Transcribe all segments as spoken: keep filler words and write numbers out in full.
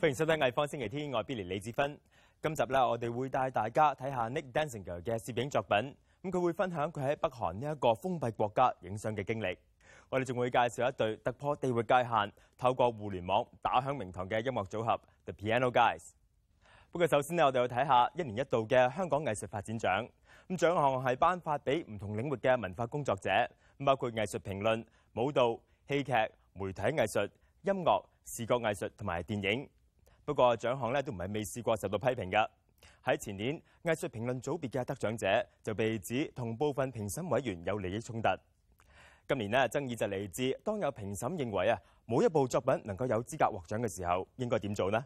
歡迎收睇藝方星期天，我係 Billy 李志芬。今集咧，我哋會帶大家睇下 Nick Danziger 嘅攝影作品。咁佢會分享佢喺北韓呢一個封閉國家影相嘅經歷。我哋仲會介紹一對突破地域界限，透過互聯網打響名堂嘅音樂組合 The Piano Guys。不過首先呢，我哋要睇下一年一度嘅香港藝術發展獎。咁獎項係頒發俾唔同領域嘅文化工作者，包括藝術評論、舞蹈、戲劇、媒體藝術、音樂、視覺藝術同埋電影。不過獎項咧都唔係未試過受到批評㗎。喺前年，藝術評論組別嘅得獎者就被指同部分評審委員有利益衝突。今年呢，爭議就嚟自當有評審認為啊，冇一部作品能夠有資格獲獎嘅時候，應該點做呢？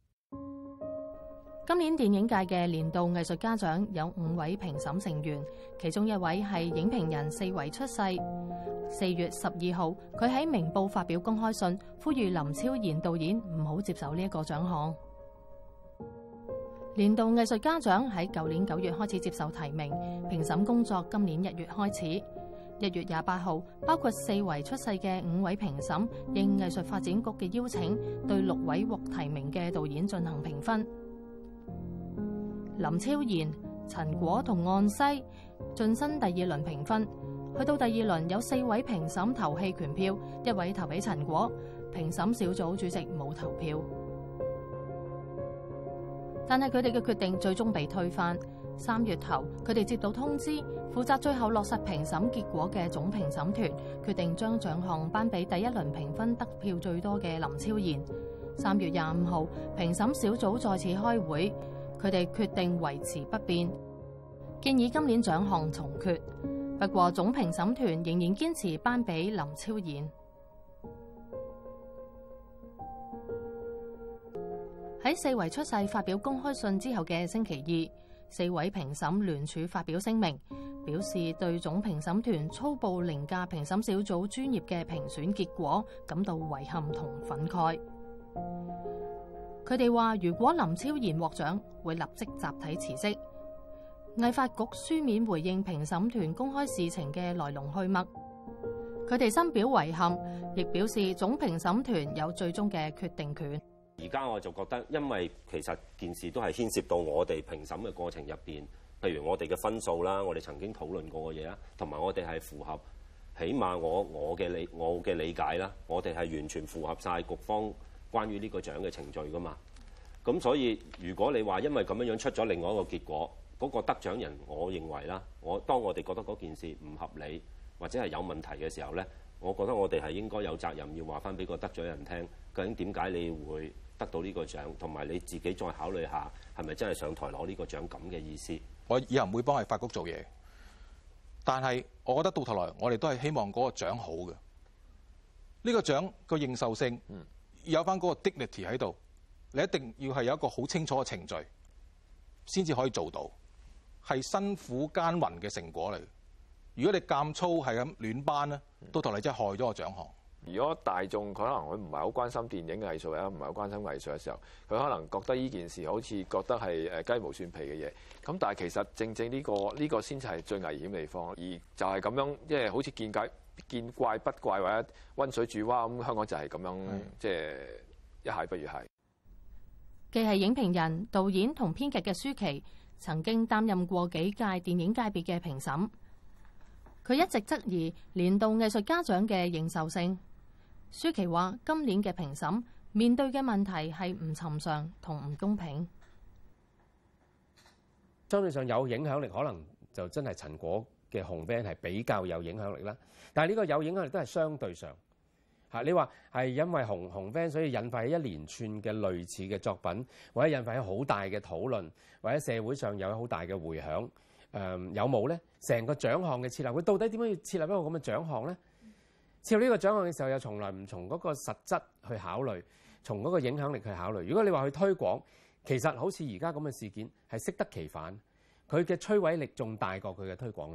今年電影界嘅年度藝術家獎有五位評審成員，其中一位係影評人四維出世。四月十二號，佢喺明報發表公開信，呼籲林超賢導演唔好接受呢一個獎項。年度藝術家獎喺舊年九月開始接受提名，評審工作今年一月開始。一月廿八號，包括四維出世嘅五位評審應藝術發展局嘅邀請，對六位獲提名嘅導演進行評分。林超賢、陳果同岸西晉身第二輪評分。去到第二輪，有四位評審投棄權票，一位投俾陳果，評審小組主席冇投票。但係佢哋嘅決定最終被推翻。三月頭，佢哋接到通知，負責最後落實評審結果嘅總評審團決定將獎項頒俾第一輪評分得票最多嘅林超賢。三月廿五號，評審小組再次開會，佢哋決定維持不變，建議今年獎項重決。不過總評審團仍然堅持頒俾林超賢。喺四維出世發表公開信之後嘅星期二，四位評審聯署發表聲明，表示對總評審團粗暴凌駕評審小組專業嘅評選結果感到遺憾同憤慨。佢哋話，如果林超賢獲獎，會立即集體辭職。藝發局書面回應評審團公開事情嘅來龍去脈，佢哋深表遺憾，亦表示總評審團有最終嘅決定權。 而家我就覺得，因為其實件事都係牽涉到我哋評審嘅過程入邊，譬如我哋嘅分數啦，我哋曾經討論過嘅嘢啦，同埋我哋係符合，起碼我我嘅理我嘅理解啦，我哋係完全符合晒局方關於呢個獎嘅程序噶嘛。咁所以如果你話因為咁樣樣出咗另外一個結果，嗰個得獎人，我認為啦，我當我哋覺得嗰件事唔合理或者係有問題嘅時候咧，我覺得我哋係應該有責任要話翻俾個得獎人聽，究竟點解你會得到呢個獎，同埋你自己再考慮下係咪真係上台攞呢個獎咁嘅意思。 我以後唔會幫藝發局做嘢，但係我覺得到頭來我哋都係希望嗰個獎好嘅。呢個獎個認受性有翻嗰個 dignity 喺度，你一定要係有一個好清楚嘅程序先至可以做到。係辛苦耕耘嘅成果嚟。如果你咁粗係咁亂頒咧，到頭嚟真係害咗個獎項。 如果大眾可能佢唔係好關心電影藝術啊，唔係好關心藝術嘅時候，佢可能覺得呢件事好似覺得係誒雞毛蒜皮嘅嘢。咁但係其實正正呢個呢個先至係最危險嘅地方。而就係咁樣，即係好似見怪見怪不怪或者溫水煮蛙咁，香港就係咁樣，即係一蟹不如蟹。 既係影評人、導演同編劇嘅舒淇，曾經擔任過幾屆電影界別嘅評審，佢一直質疑年度藝術家獎嘅認受性。舒淇話：今年嘅評審面對嘅問題係唔尋常同唔公平。 相對上有影響力，可能就真係陳果嘅紅 van 係比較有影響力啦。但係呢個有影響力都係相對上嚇。你話係因為紅紅 van 所以引發起一連串嘅類似嘅作品，或者引發起好大嘅討論，或者社會上有好大嘅迴響。誒、嗯、有冇咧？成個獎項嘅設立，佢到底點樣要設立一個咁嘅獎項咧？設立呢個獎項嘅時候，又從來唔從嗰個實質去考慮，從嗰個影響力去考慮。如果你話去推廣，其實好似而家咁嘅事件係適得其反，佢嘅摧毀力仲大過佢嘅推廣力。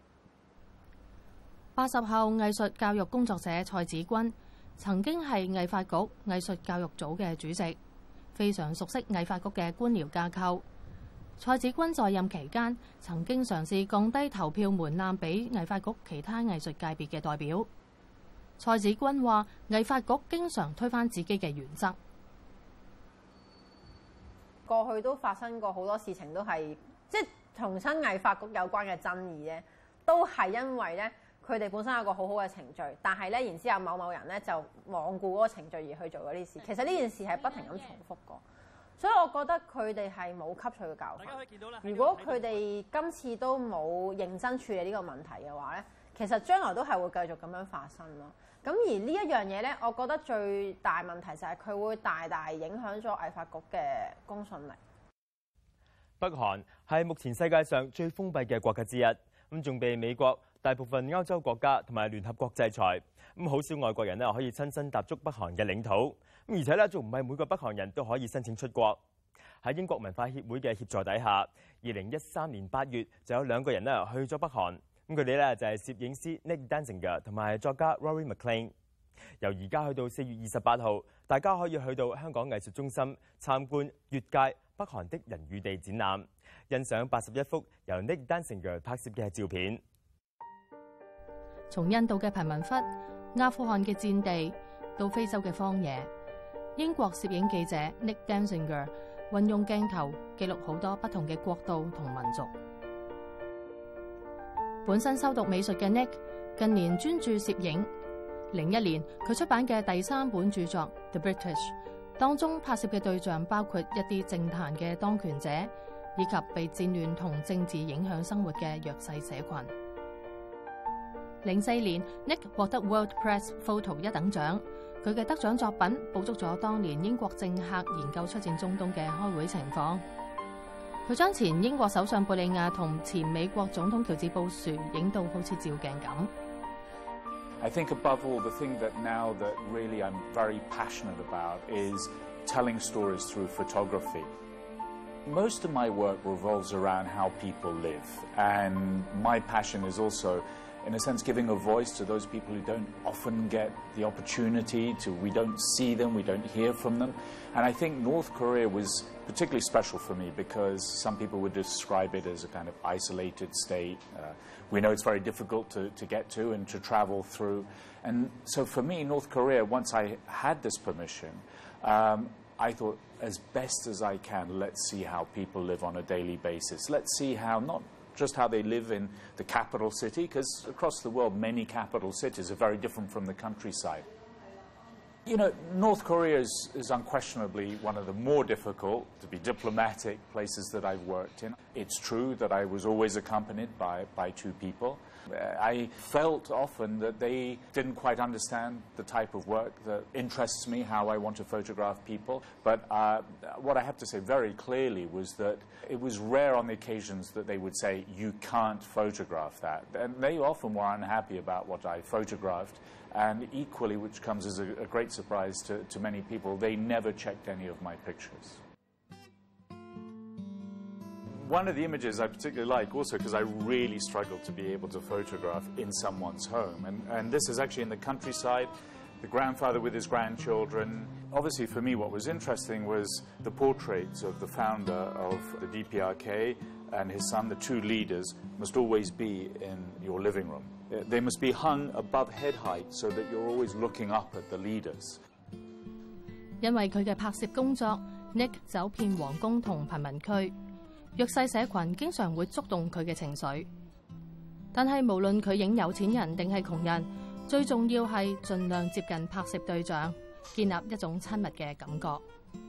八十後藝術教育工作者蔡子君曾經係藝發局藝術教育組嘅主席，非常熟悉藝發局嘅官僚架構。蔡子君在任期間曾經嘗試降低投票門檻俾藝發局其他藝術界別嘅代表。蔡子君話：藝發局經常推翻自己嘅原則。 過去都發生過好多事情，都係即係同新藝發局有關嘅爭議咧，都係因為咧佢哋本身有個好好嘅程序，但係咧然之後某某人咧就罔顧嗰個程序而去做嗰啲事。其實呢件事係不停咁重複過，所以我覺得佢哋係冇吸取嘅教訓。如果佢哋今次都冇認真處理呢個問題嘅話咧，其實將來都係會繼續咁樣發生咯。咁而呢一樣嘢咧，我覺得最大問題就係佢會大大影響咗藝發局嘅公信力。 北韓係目前世界上最封閉嘅國家之一，咁仲被美國、大部分歐洲國家同埋聯合國制裁，咁好少外國人咧可以親身踏足北韓嘅領土，咁而且咧仲唔係每個北韓人都可以申請出國。喺英國文化協會嘅協助底下，二零一三年八月就有兩個人咧去咗北韓，咁佢哋咧就係攝影師 Nick Danziger 同埋作家 Rory McLean。由而家去到四月二十八號，大家可以去到香港藝術中心參觀越界北韓的人與地展覽，欣賞八十一幅由 Nick Danziger 拍攝嘅照片。 從印度嘅貧民窟、阿富汗嘅戰地到非洲嘅荒野，英國攝影記者 Nick Danziger 運用鏡頭記錄好多不同嘅國度同民族。本身修讀美術嘅 Nick 近年專注攝影。零一年佢出版嘅第三本著作《The British》當中拍攝嘅對象包括一啲政壇嘅當權者，以及被戰亂同政治影響生活嘅弱勢社群。零四年 Nick 獲得 World Press Photo 一等獎，佢嘅得獎作品捕捉咗當年英國政客研究出戰中東嘅開會情況。佢將前英國首相貝利亞同前美國總統喬治布殊影到好似照鏡咁。 I think above all, the thing that now that really I'm very passionate about is telling stories through photography. Most of my work revolves around how people live, and my passion is also, in a sense, giving a voice to those people who don't often get the opportunity to, we don't see them, we don't hear from them. And I think North Korea was particularly special for me because some people would describe it as a kind of isolated state. Uh, we know it's very difficult to, to get to and to travel through. And so for me, North Korea, once I had this permission, um, I thought, as best as I can, let's see how people live on a daily basis. Let's see how, not just how they live in the capital city, because across the world, many capital cities are very different from the countryside. You know, North Korea is, is unquestionably one of the more difficult, to be diplomatic, places that I've worked in. It's true that I was always accompanied by, by two people. I felt often that they didn't quite understand the type of work that interests me, how I want to photograph people. But uh, what I have to say very clearly was that it was rare on the occasions that they would say, you can't photograph that. And they often were unhappy about what I photographed. And equally, which comes as a, a great surprise to, to many people, they never checked any of my pictures. One of the images I particularly like also because I really struggled to be able to photograph in someone's home. And, and this is actually in the countryside, the grandfather with his grandchildren. Obviously for me what was interesting was the portraits of the founder of the D P R K and his son, the two leaders, must always be in your living room. They must be hung above head height so that you're always looking up at the leaders. 因為佢嘅拍攝工作 ，Nick 走遍皇宮同貧民區。弱勢社群經常會觸動佢嘅情緒，但係無論佢影有錢人定係窮人，最重要係盡量接近拍攝對象，建立一種親密嘅感覺。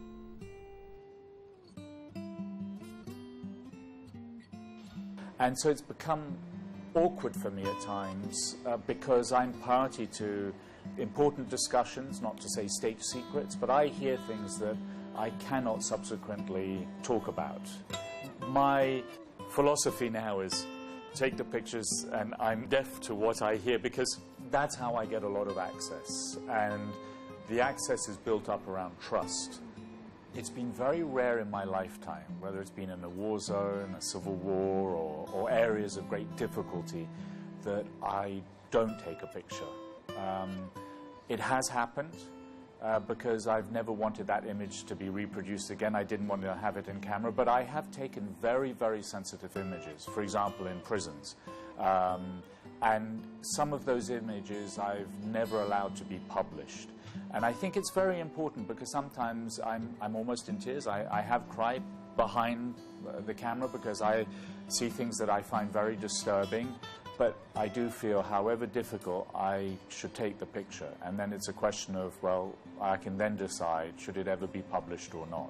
And so it's become awkward for me at times uh, because I'm party to important discussions, not to say state secrets, but I hear things that I cannot subsequently talk about. My philosophy now is take the pictures and I'm deaf to what I hear because that's how I get a lot of access. And the access is built up around trust. It's been very rare in my lifetime, whether it's been in a war zone, a civil war, or, or areas of great difficulty, that I don't take a picture. Um, it has happened. Uh, because I've never wanted that image to be reproduced again. I didn't want to have it in camera, but I have taken very, very sensitive images, for example, in prisons. Um, and some of those images I've never allowed to be published. And I think it's very important because sometimes I'm, I'm almost in tears. I, I have cried behind the camera because I see things that I find very disturbing. But I do feel, however difficult, I should take the picture. And then it's a question of, well, I can then decide, should it ever be published or not.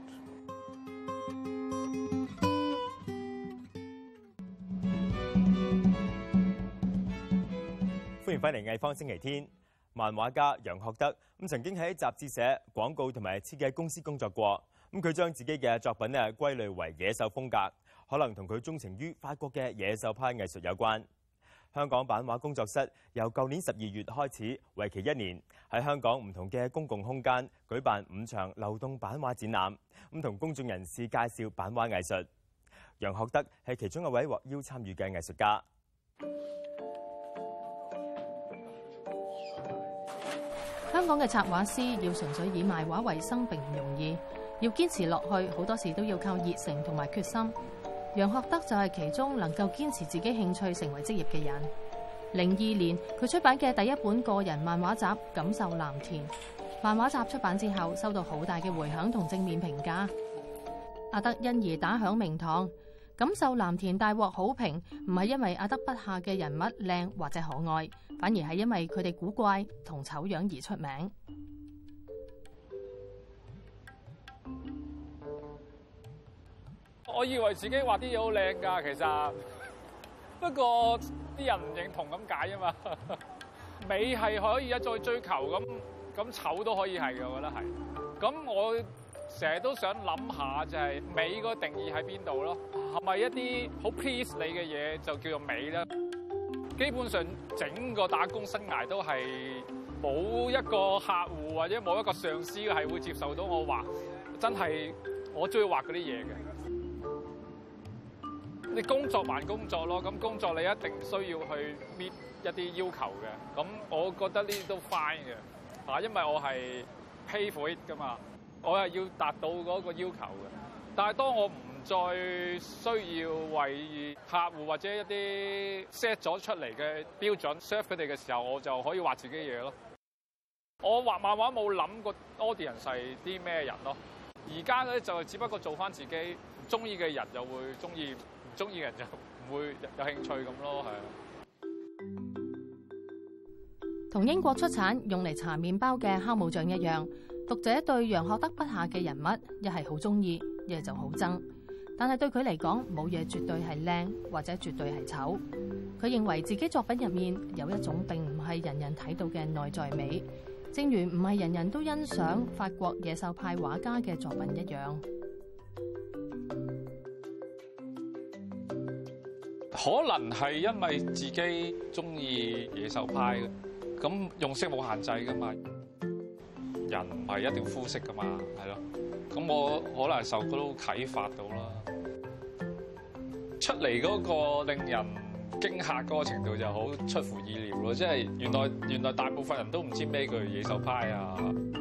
歡迎翻嚟藝方星期天。漫畫家楊學德咁曾經喺雜誌社、廣告同埋設計公司工作過。咁佢將自己嘅作品咧歸類為野獸風格，可能同佢鍾情於法國嘅野獸派藝術有關。香港版畫工作室由舊年十二月開始，為期一年，喺香港唔同嘅公共空間舉辦五場流動版畫展覽，咁同公眾人士介紹版畫藝術。楊學德係其中一位獲邀參與嘅藝術家。 香港嘅插畫師要純粹以賣畫為生並唔容易，要堅持落去，好多時都要靠熱誠同埋決心。楊學德就係其中能夠堅持自己興趣成為職業嘅人。零二年佢出版嘅第一本個人漫畫集《感受藍田》，漫畫集出版之後收到好大嘅迴響同正面評價。阿德因而打響名堂，《感受藍田》大獲好評，唔係因為阿德筆下嘅人物靚或者可愛，反而係因為佢哋古怪同醜樣而出名。 我以為自己畫啲嘢好靚㗎，其實不過啲人唔認同咁解啊嘛。美係可以一再追求，咁咁醜都可以係嘅，我覺得係。咁我成日都想諗下，就係美個定義喺邊度咯？係咪一啲好 please 你嘅嘢就叫做美咧？基本上整個打工生涯都係冇一個客戶或者冇一個上司係會接受到我畫真係我中意畫嗰啲嘢嘅。你工作還工作咯，咁工作你一定需要去 meet 一啲要求嘅。咁我覺得呢啲都 fine 嘅，啊，因為我係 pay for it 噶嘛，我係要達到嗰個要求嘅。但係當我唔再需要為客戶或者一啲 set 咗出嚟嘅標準 serve 佢哋嘅時候，我就可以畫自己嘢咯。我畫漫畫冇諗過 audience 係啲咩人咯。而家咧就只不過做翻自己中意嘅人就會中意。中意嘅人就唔會有興趣咁咯，係啊。 同英國出產用嚟搽麵包嘅酵母醬一樣，讀者對楊學德筆下嘅人物一係好中意，一係就好憎。但係對佢嚟講，冇嘢絕對係靚或者絕對係醜。佢認為自己作品入面有一種並唔係人人睇到嘅內在美，正如唔係人人都欣賞法國野獸派畫家嘅作品一樣。 可能係因為自己中意野獸派嘅，咁用色冇限制噶嘛，人唔係一定膚色噶嘛，係咯。咁我可能受到啟發到啦，出嚟嗰個令人驚嚇嗰個程度就好出乎意料咯，即係原來原來大部分人都唔知咩叫野獸派啊。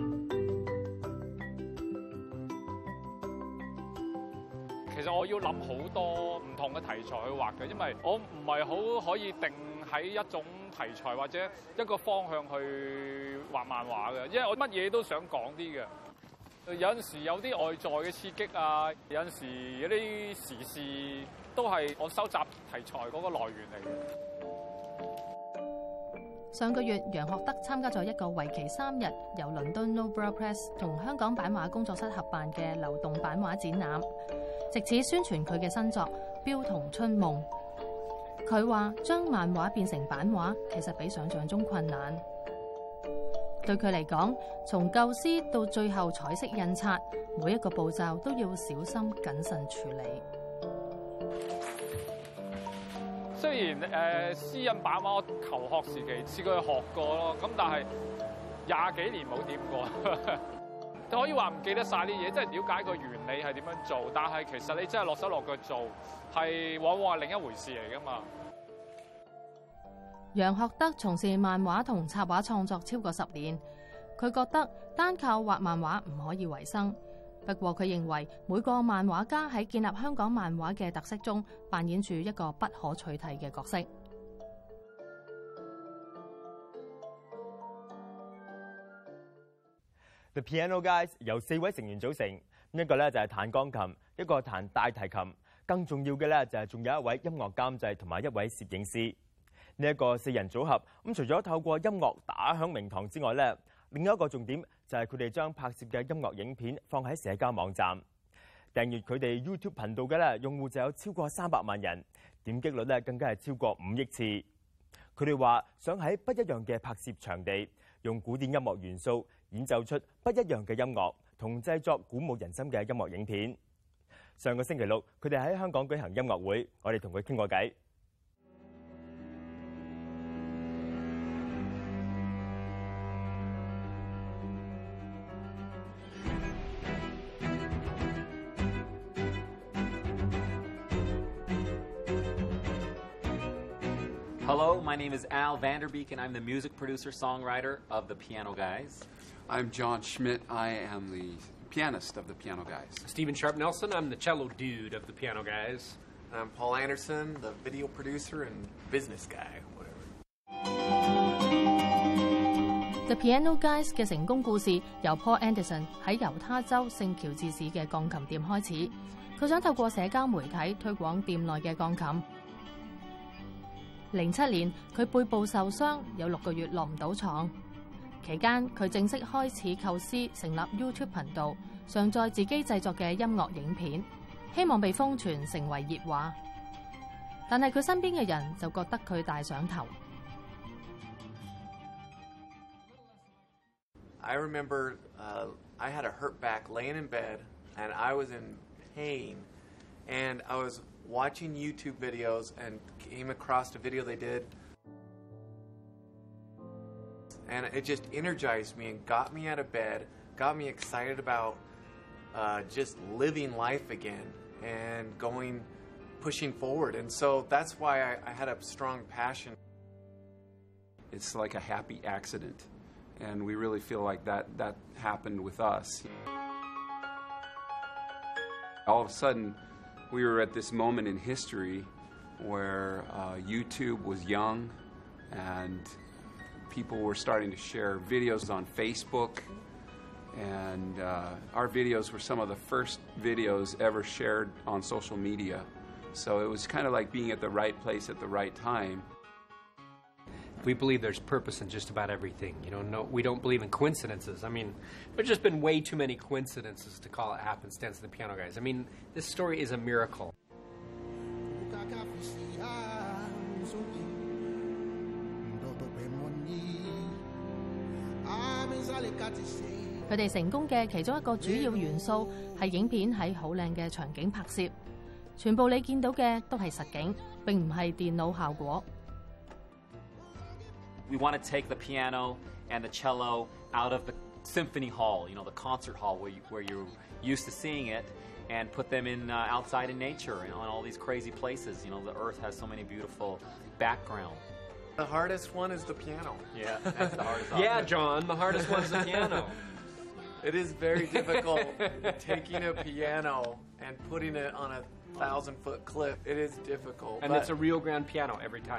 其實我要諗好多唔同嘅題材去畫嘅，因為我唔係好可以定喺一種題材或者一個方向去畫漫畫嘅，因為我乜嘢都想講啲嘅。有陣時有啲外在嘅刺激啊，有陣時有啲時事都係我收集題材嗰個來源嚟嘅。 上個月，楊學德參加咗一個為期三日由倫敦 Nobel Press 同香港版畫工作室合辦嘅流動版畫展覽，藉此宣傳佢嘅新作《標童春夢》。佢話將漫畫變成版畫，其實比想象中困難。對佢嚟講，從構思到最後彩色印刷，每一個步驟都要小心謹慎處理。 雖然誒、呃、私印版畫我求學時期試過去學過咯，咁但係廿幾年冇掂過，可以話唔記得晒啲嘢，即係了解個原理係點樣做，但係其實你真係落手落腳做，係往往係另一回事嚟㗎嘛。 楊學德從事漫畫同插畫創作超過十年，佢覺得單靠畫漫畫唔可以維生。不過佢認為每個漫畫家喺建立香港漫畫嘅特色中，扮演住一個不可取替嘅角色。 The Piano Guys 由四位成員組成，一個咧就係彈鋼琴，一個彈大提琴，更重要嘅咧就係仲有一位音樂監製同埋一位攝影師。呢一個四人組合咁，除咗透過音樂打響名堂之外咧，另一個重點就係佢哋將拍攝嘅音樂影片放喺社交網站。訂閱佢哋 YouTube 頻道嘅咧，用戶就有超過三百萬人，點擊率咧更加係超過五億次。佢哋話想喺不一樣嘅拍攝場地，用古典音樂元素演奏出不一樣嘅音樂，同製作鼓舞人心嘅音樂影片。上個星期六，佢哋喺香港舉行音樂會，我哋同佢傾過偈。 Hello, my name is Al Vanderbeek, and I'm the music producer-songwriter of the Piano Guys. I'm John Schmidt. I am the pianist of the Piano Guys. Stephen Sharp Nelson. I'm the cello dude of the Piano Guys. I'm Paul Anderson, the video producer and business guy, whatever. The Piano Guys 嘅成功故事由 Paul Anderson 喺猶他州聖喬治市嘅鋼琴店開始。佢想透過社交媒體推廣店內嘅鋼琴。零七年，佢背部受傷，有六個月落唔到床。期間，佢正式開始構思成立 YouTube 頻道，上載自己製作嘅音樂影片，希望被瘋傳成為熱話。但係佢身邊嘅人就覺得佢大上頭。 I remember uh, I had a hurt back laying in bed, and I was in pain, and I was watching YouTube videos and came across a video they did, and it just energized me and got me out of bed, got me excited about uh, just living life again and going, pushing forward. And so that's why I, I had a strong passion. It's like a happy accident, and we really feel like that, that happened with us. All of a sudden, we were at this moment in history where uh, YouTube was young and people were starting to share videos on Facebook, and uh, our videos were some of the first videos ever shared on social media. So it was kind of like being at the right place at the right time. We believe there's purpose in just about everything. You know, no, we don't believe in coincidences. I mean, there's just been way too many coincidences to call it happenstance to the Piano Guys. I mean, this story is a miracle. 佢哋成功嘅其中一個主要元素係影片喺好靚嘅場景拍攝，全部你見到嘅都係實景，並唔係電腦效果。 We want to take the piano and the cello out of the symphony hall, you know, the concert hall where, you, where you're used to seeing it, and put them in uh, outside in nature and on all these crazy places. You know, the earth has so many beautiful backgrounds. The hardest one is the piano. Yeah, that's the hardest one. Yeah, John, the hardest one is the piano. It is very difficult taking a piano and putting it on a thousand-foot cliff. It is difficult. And it's a real grand piano every time.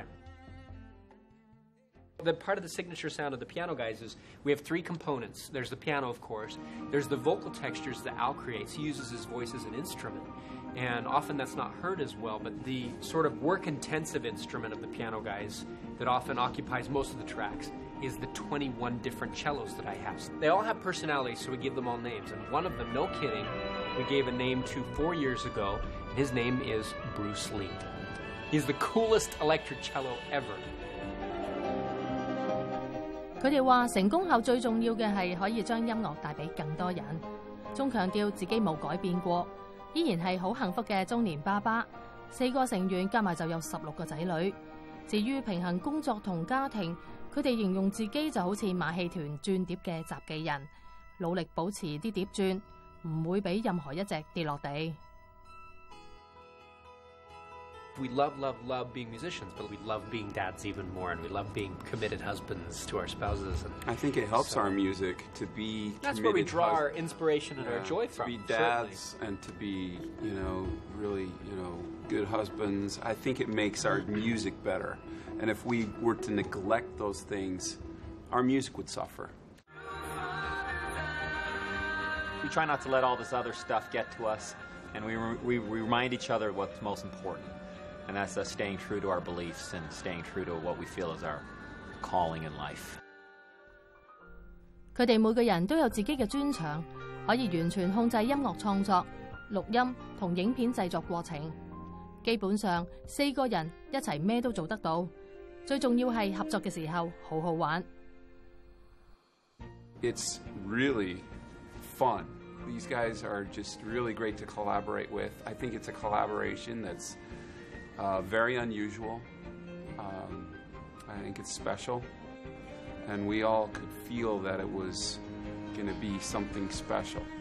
The part of the signature sound of the Piano Guys is we have three components. There's the piano, of course. There's the vocal textures that Al creates. He uses his voice as an instrument. And often that's not heard as well, but the sort of work-intensive instrument of the Piano Guys that often occupies most of the tracks is the twenty-one different cellos that I have. They all have personalities, so we give them all names. And one of them, no kidding, we gave a name to four years ago. His name is Bruce Lee. He's the coolest electric cello ever. 佢哋話成功後最重要嘅係可以將音樂帶俾更多人，仲強調自己冇改變過，依然係好幸福嘅中年爸爸。四個成員加埋就有十六個仔女。至於平衡工作同家庭，佢哋形容自己就好似馬戲團轉碟嘅雜技人，努力保持啲碟轉，唔會俾任何一隻跌落地。 We love, love, love being musicians, but we love being dads even more, and we love being committed husbands to our spouses. And I think it helps so, our music to be That's where we draw our inspiration and yeah, our joy from. To be dads certainly. And to be, you know, really, you know, good husbands. I think it makes our music better. And if we were to neglect those things, our music would suffer. we try not to let all this other stuff get to us, and we, re we, we remind each other what's most important, and that's us staying true to our beliefs and staying true to what we feel is our calling in life. 佢哋每個人都有自己嘅專長，可以完全控制音樂創作、錄音同影片製作過程。基本上四個人一齊咩都做得到。最重要係合作嘅時候好好玩。 It's really fun. These guys are just really great to collaborate with. I think it's a collaboration that's uh, very unusual. Um, I think it's special. And we all could feel that it was going to be something special.